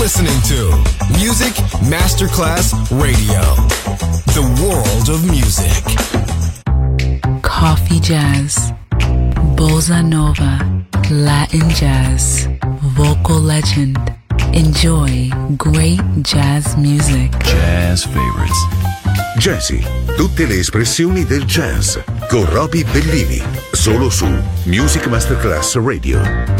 listening to Music Masterclass Radio, the world of music. Coffee jazz, bossa nova, Latin jazz, vocal legend. Enjoy great jazz music. Jazz favorites. Jazzy, tutte le espressioni del jazz con Roby Bellini, solo su Music Masterclass Radio.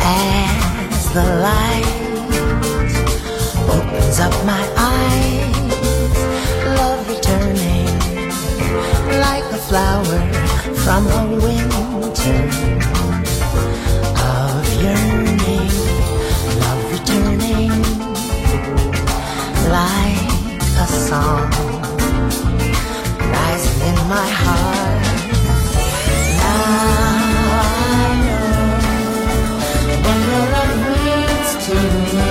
As the light opens up my eyes, love returning like a flower from a winter of yearning. Love returning like a song rising in my heart. Now I know when your love brings to me,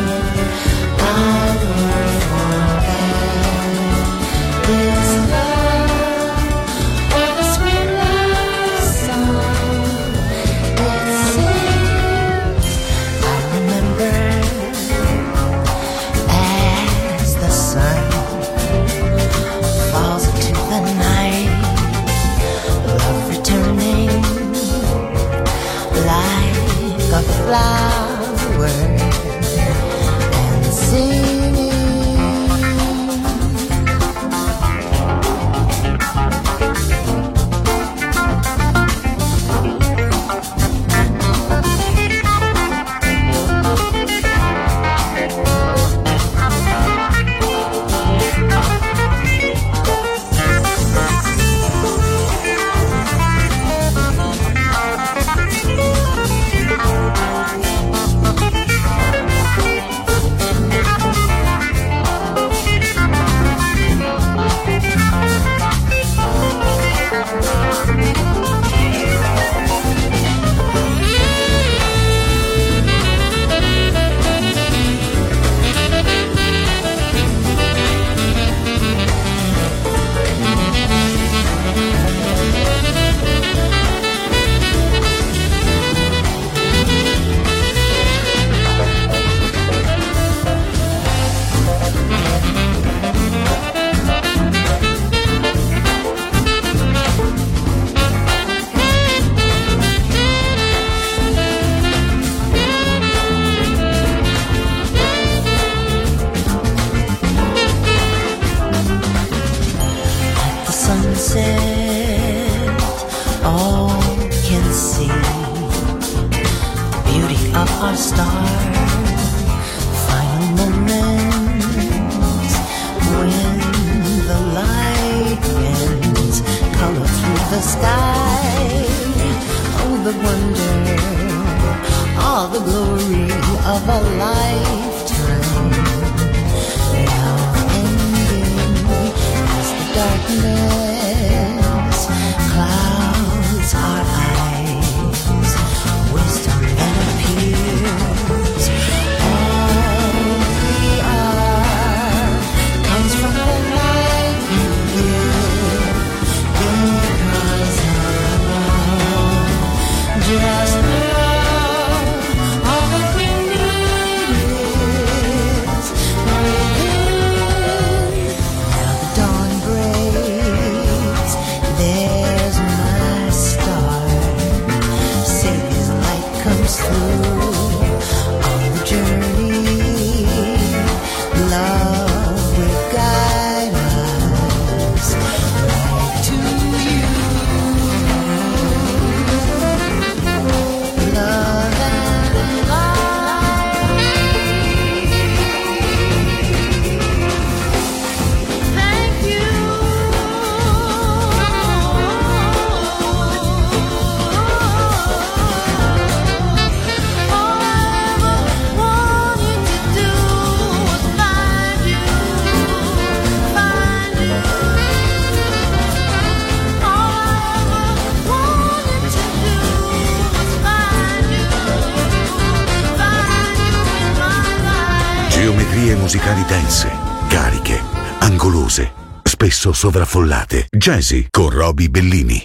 I will forget this love or the sweet love song it sings. I remember as the sun falls into the night, love returning like a flower and singing. Musicali dense, cariche, angolose, spesso sovraffollate. Jazzy con Roby Bellini.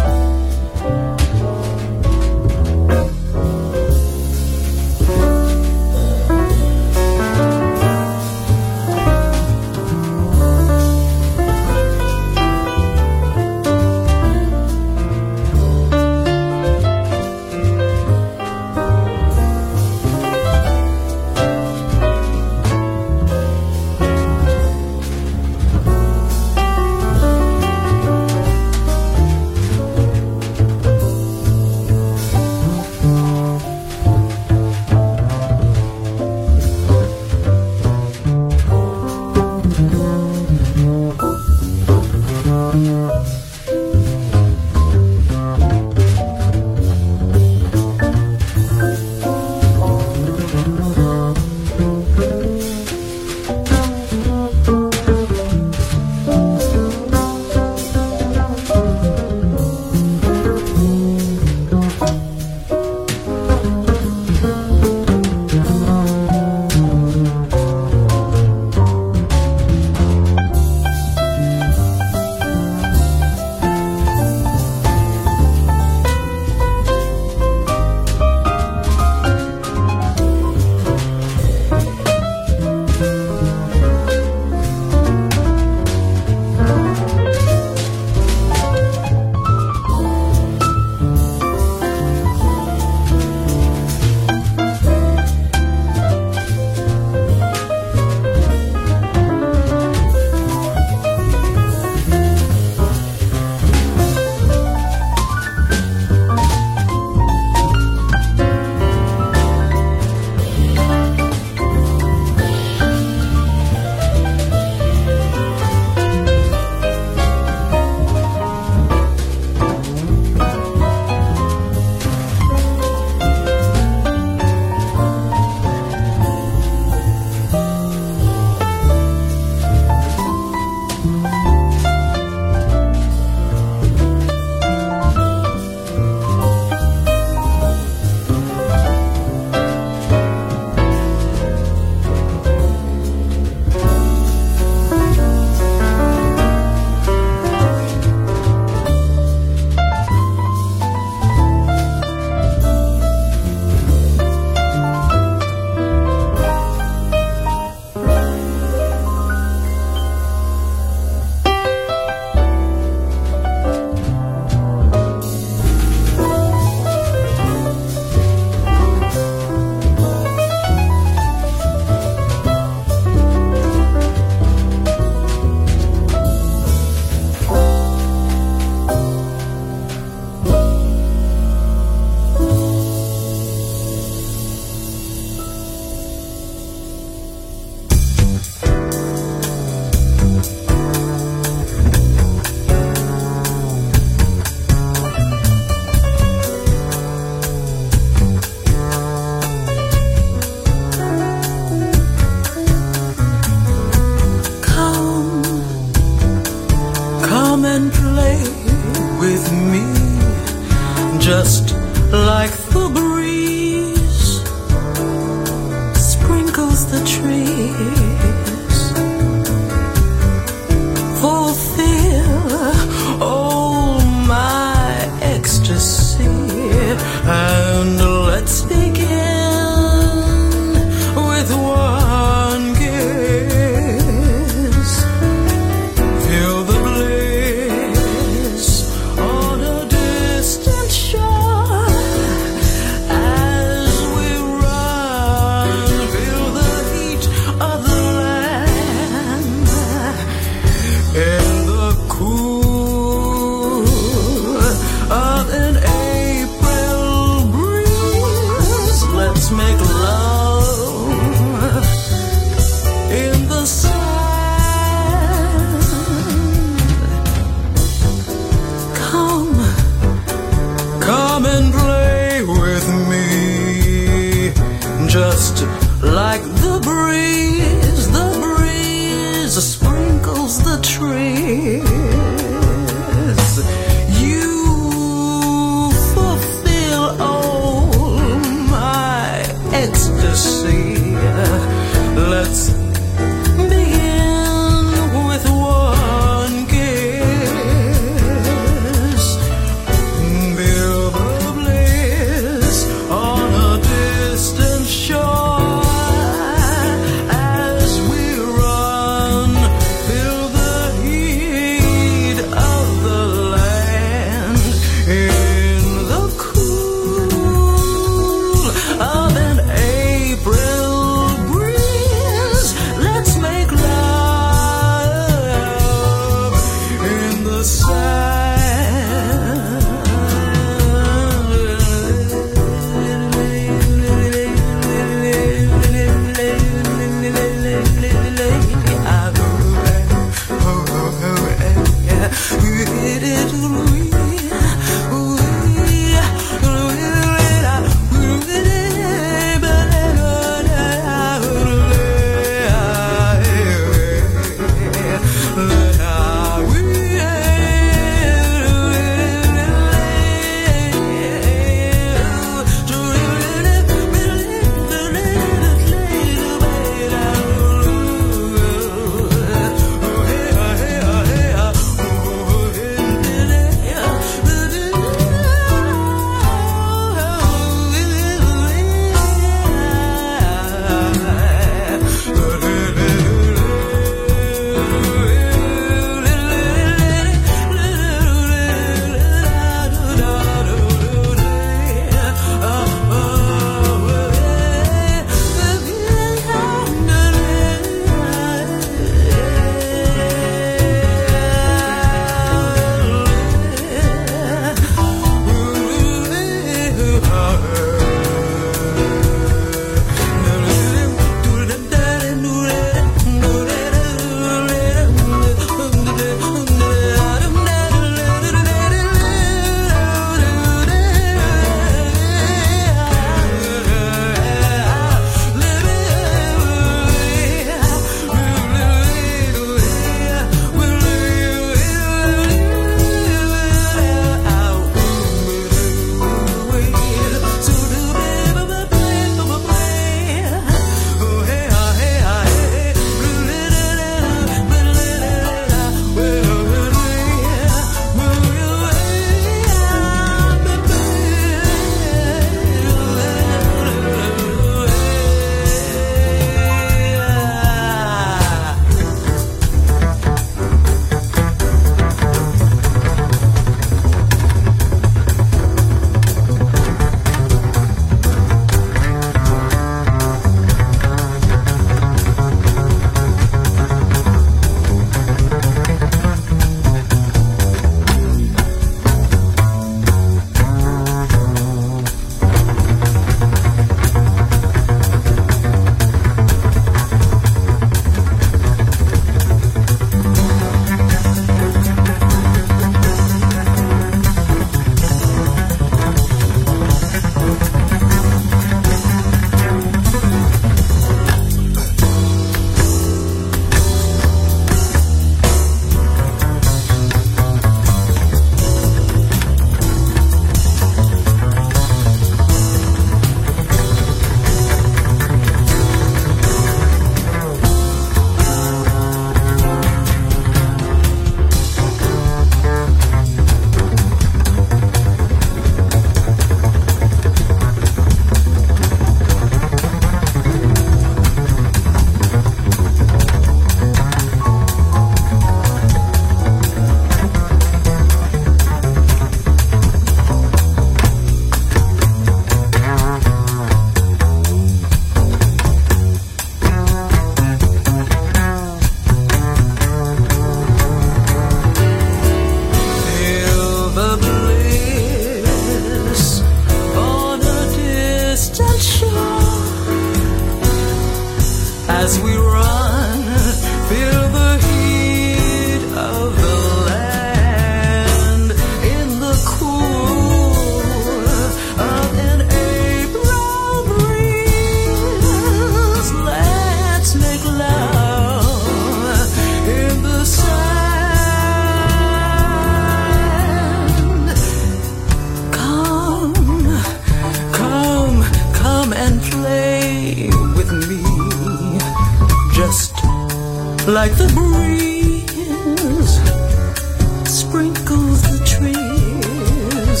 like the breeze sprinkles the trees.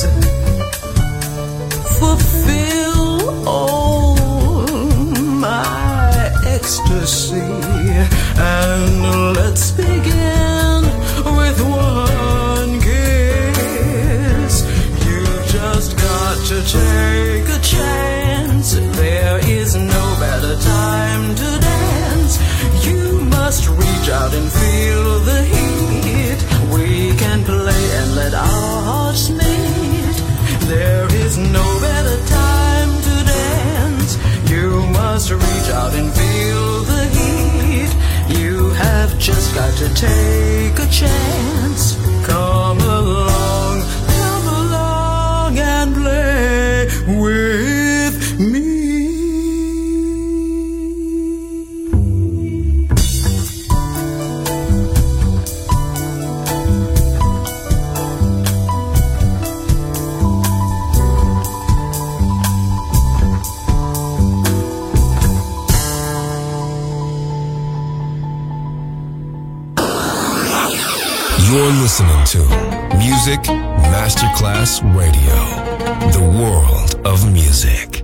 Fulfill all my ecstasy, and let's begin with one kiss. You've just got to take a chance. There is no better time to dance. You must reach out and feel the heat. We can play and let our hearts meet. There is no better time to dance. You must reach out and feel the heat. You have just got to take a chance. Come along and play with me. You're listening to Music Masterclass Radio, the world of music.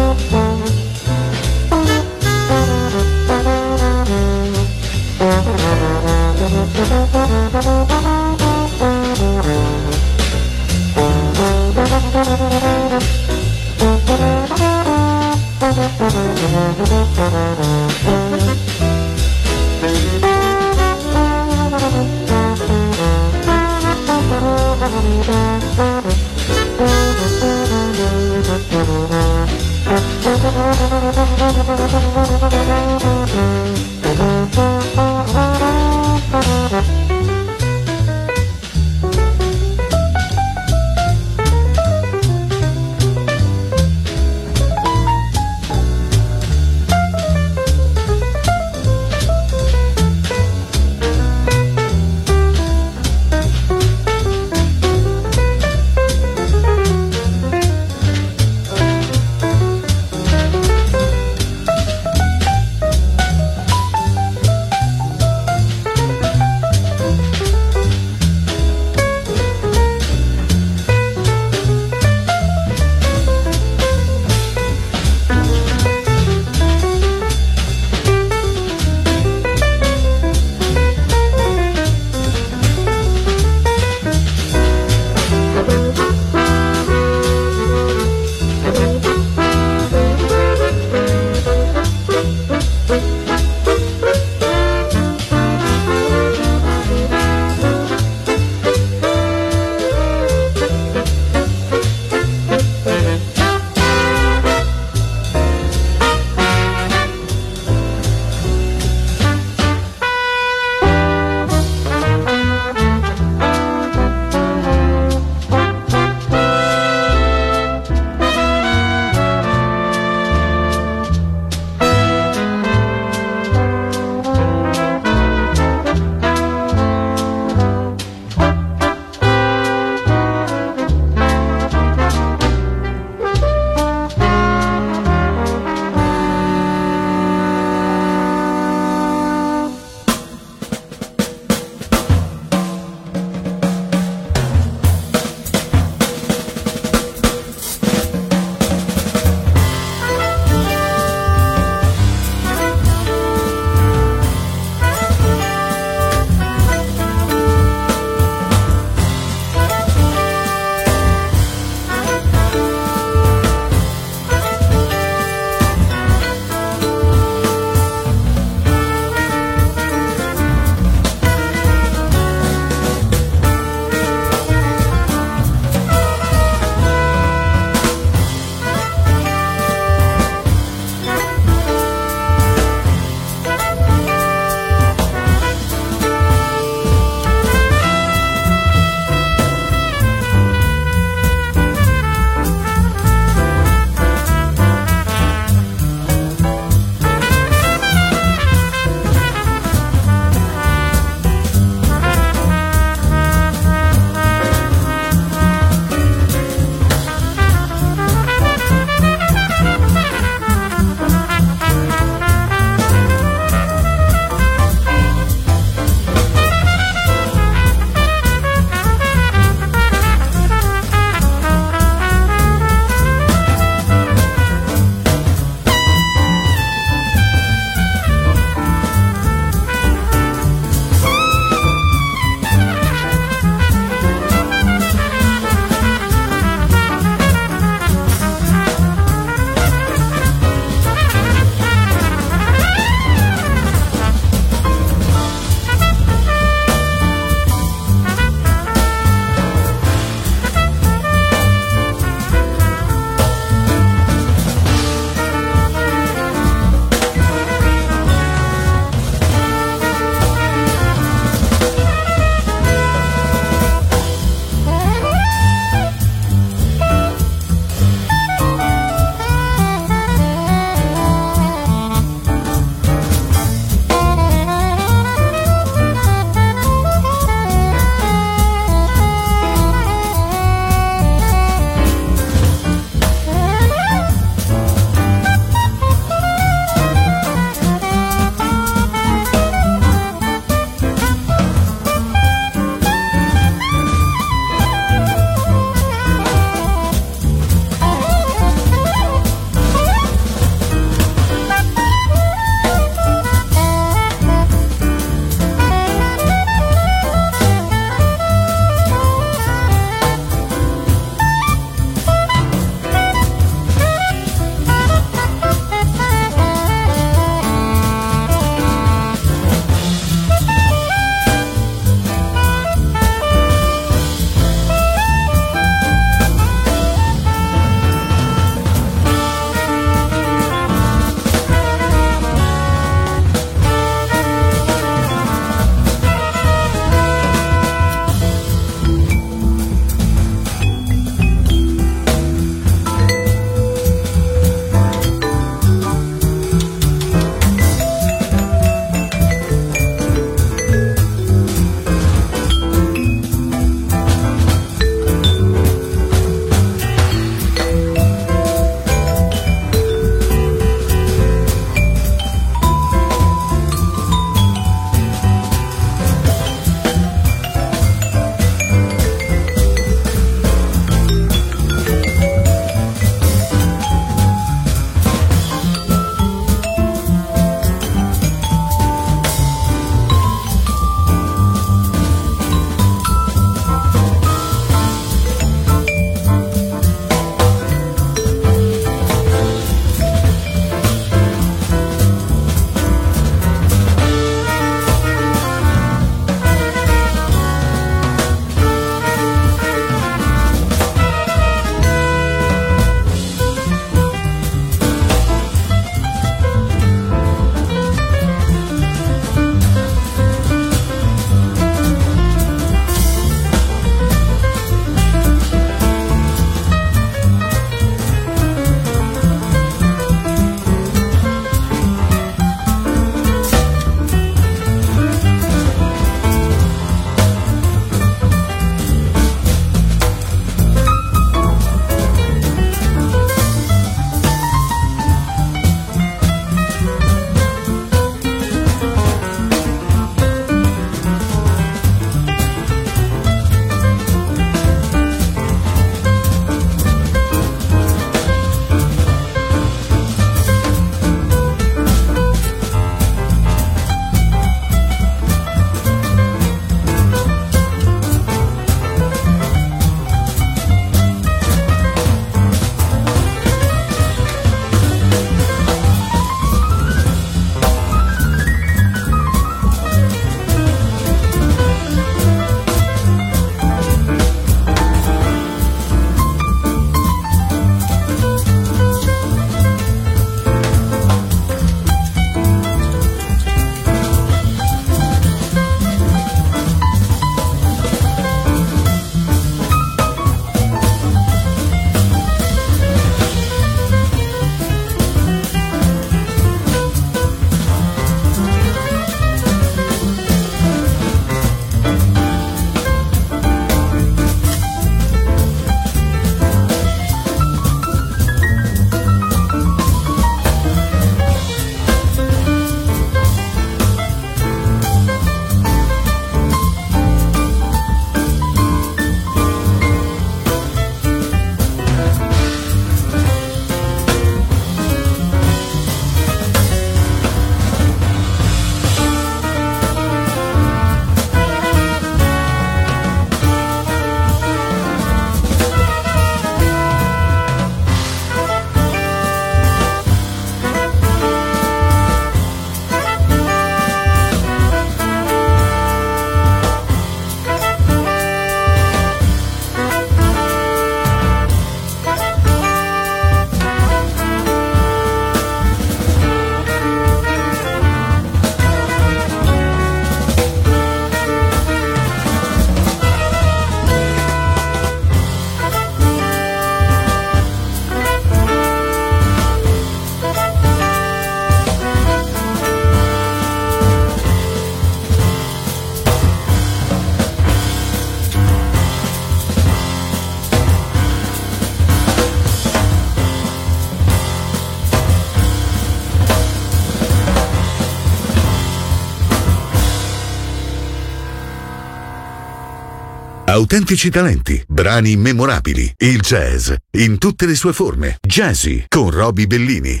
autentici talenti, brani immemorabili, il jazz in tutte le sue forme. Jazzy con Roby Bellini.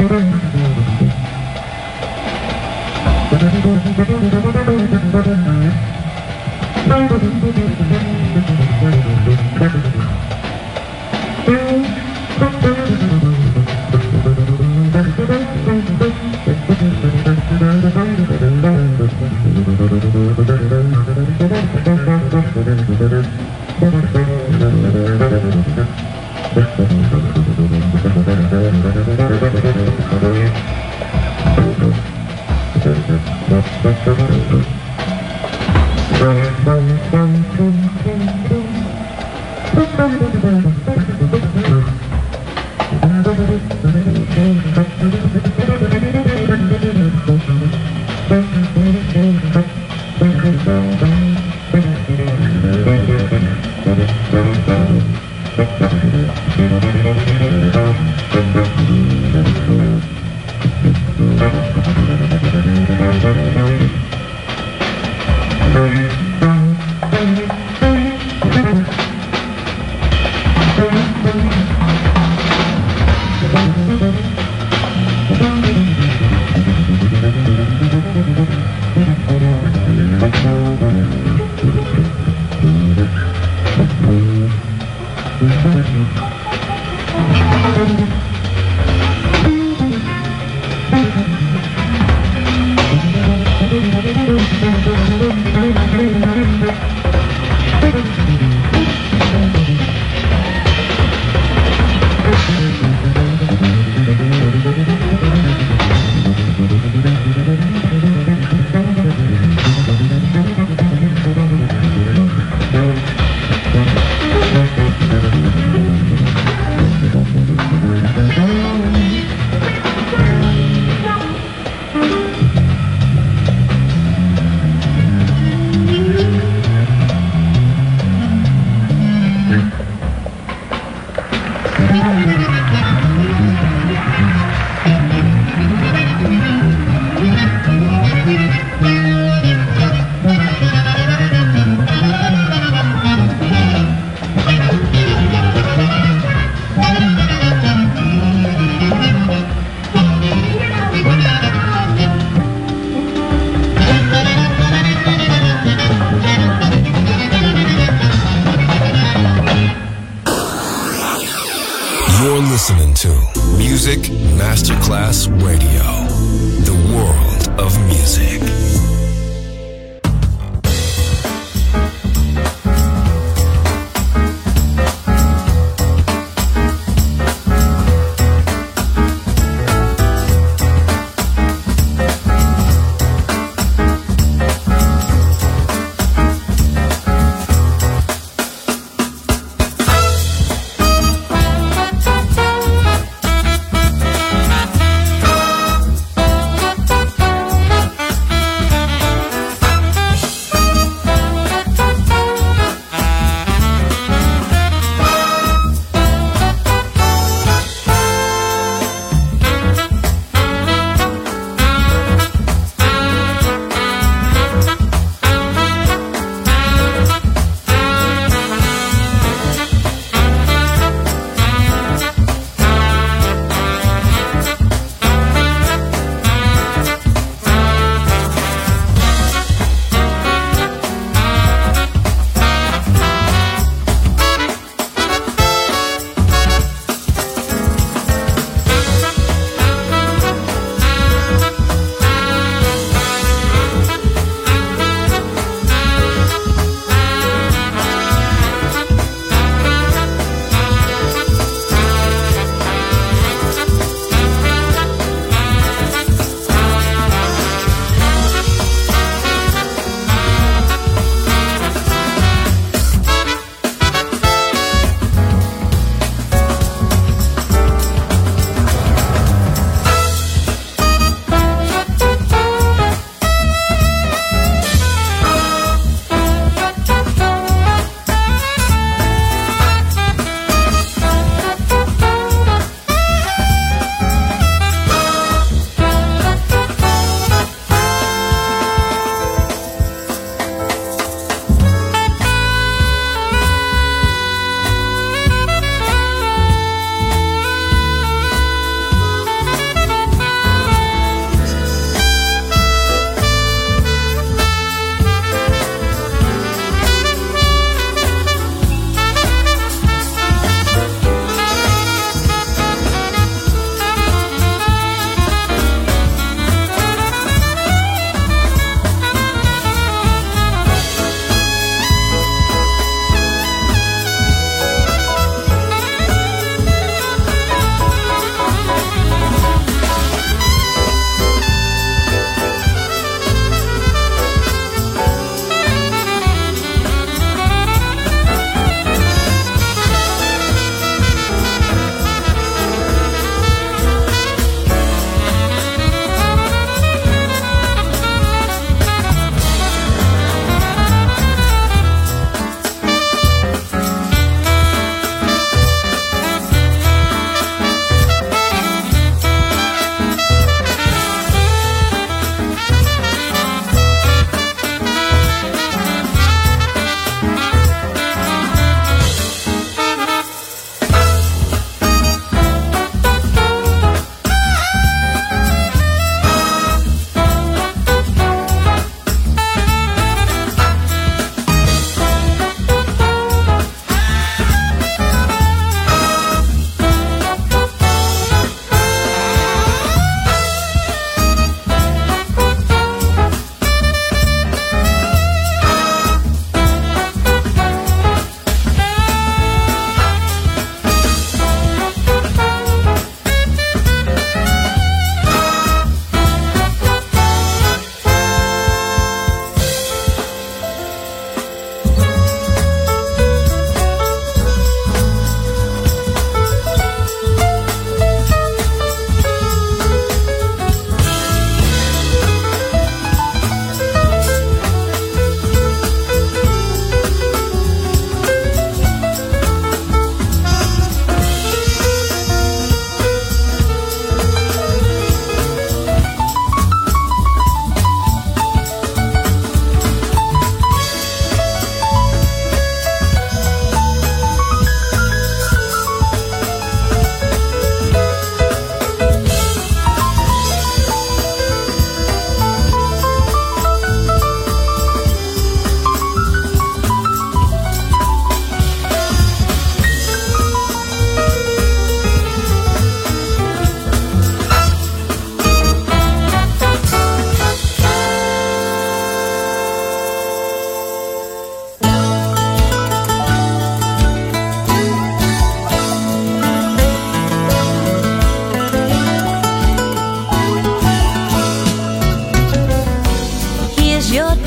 listening to Music Masterclass Radio, the world of music.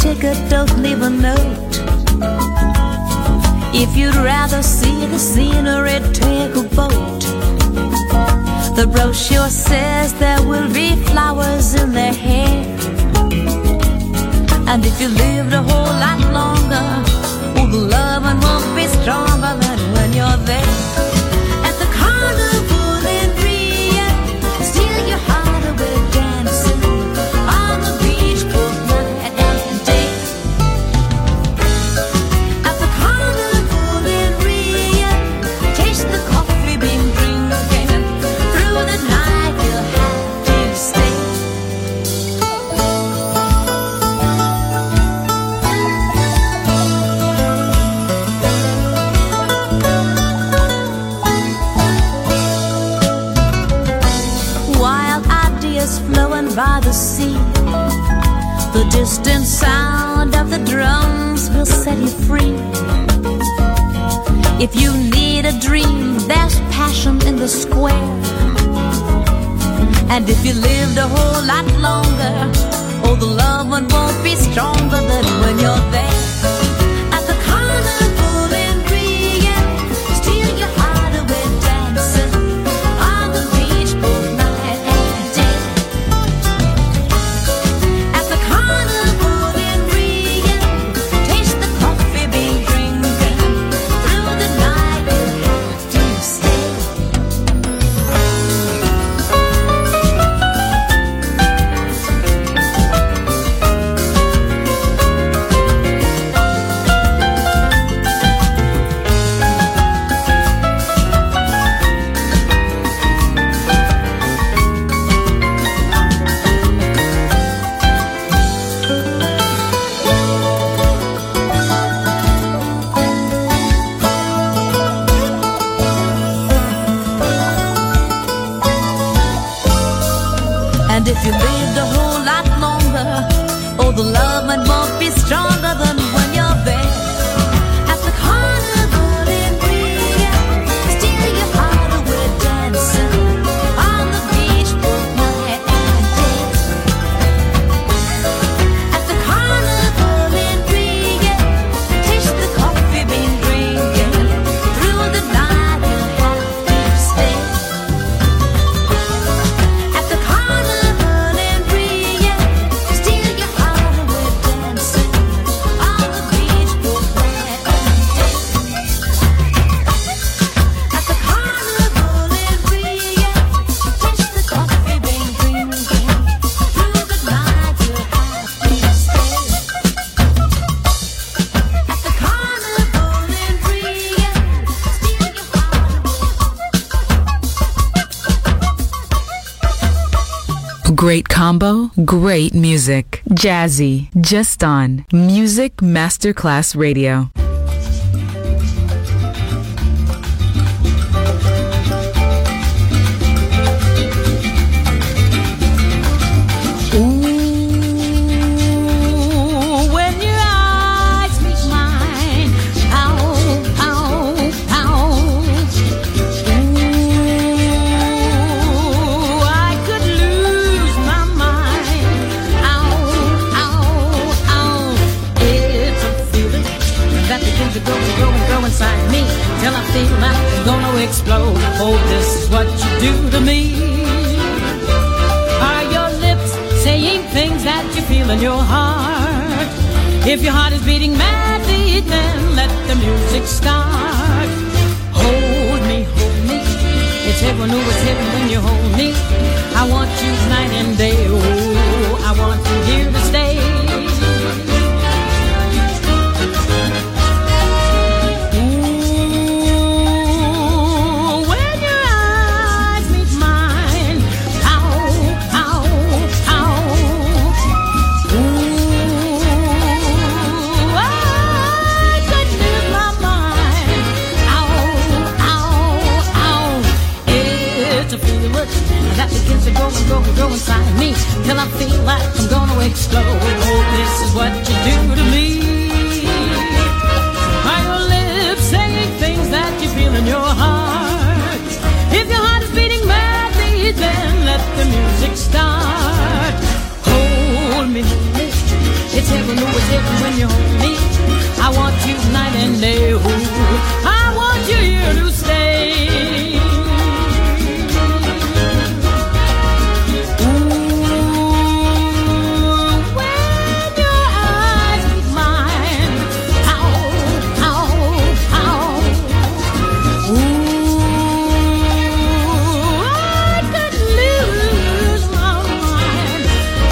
ticket, don't leave a note. If you'd rather see the scenery, take a boat. The brochure says there will be flowers in their hair. And if you lived a whole lot longer, oh, the loving won't be stronger than when you're there. At the carnival in Rio, steal your heart away dancing on the beach both night and day. At the carnival in Rio, taste the coffee bean drinking. Through the night you'll have to stay. Flowing by the sea, the distant sound of the drums will set you free. If you need a dream, there's passion in the square. And if you lived a whole lot longer, oh, the love one won't be stronger than when you're there. At the carnival in Rio, steal your heart away dancing on the beach both night and day. At the carnival in Rio, taste the coffee bean drinking. Through the night you'll have to stay. And if you lived a whole lot longer, oh, the love won't be stronger than when you're there. At the carnival in Rio, steal your heart away dancing on the beach both night and day. At the carnival in Rio, taste the coffee bean drinking. Through the night you'll have to stay. At the carnival in Rio, steal your heart away dancing on the beach both night and day. At the carnival in Rio, taste the coffee bean drinking. Through the night you'll have to stay. At the carnival in Rio, steal your heart away. Great combo, great music. Jazzy, just on Music Masterclass Radio. Ooh, when your eyes meet mine, ow, ow, ow. Ooh, I could lose my mind. Ow, ow, ow. It's a feeling that begins to go inside me till I feel like I'm gonna explode. Oh, this is what you do to me. Are your lips saying things that you feel in your heart? If your heart is beating madly, then let the music start. Hold me, hold me. It's heaven, oh, it's heaven when you hold me. I want you night and day. Oh, I want you here to stay. Ooh, when your eyes meet mine, ow, ow, ow. Ooh, I could lose my mind. Ow, ow, ow. It's a feeling that begins to go inside me till I feel like I'm gonna explode. Oh, this is what you do to me. Are your lips saying things that you feel in your heart? If your heart is beating madly, then let the music start. Hold me, It's heaven, oh, it's heaven when you hold me. I want you night and day. Ooh, I want you here to stay. Ooh, when your eyes meet mine, how, ooh, I could lose my mind.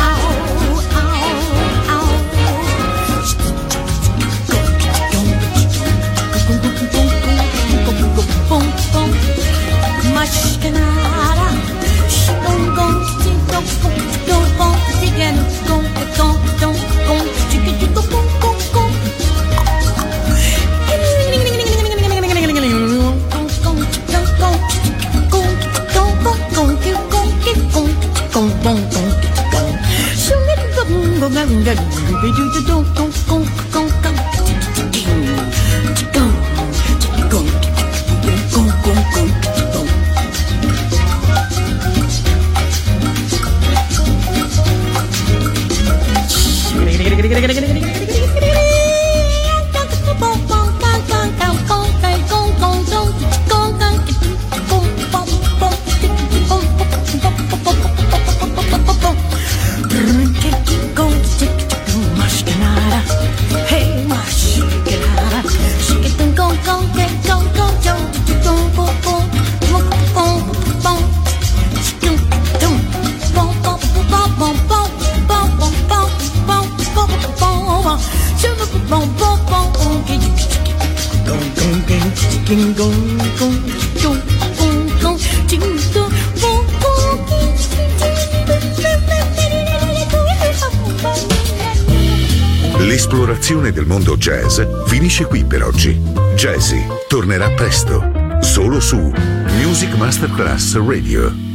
L'esplorazione del mondo jazz finisce qui per oggi. Jazzy tornerà presto, solo su Music Masterclass Radio.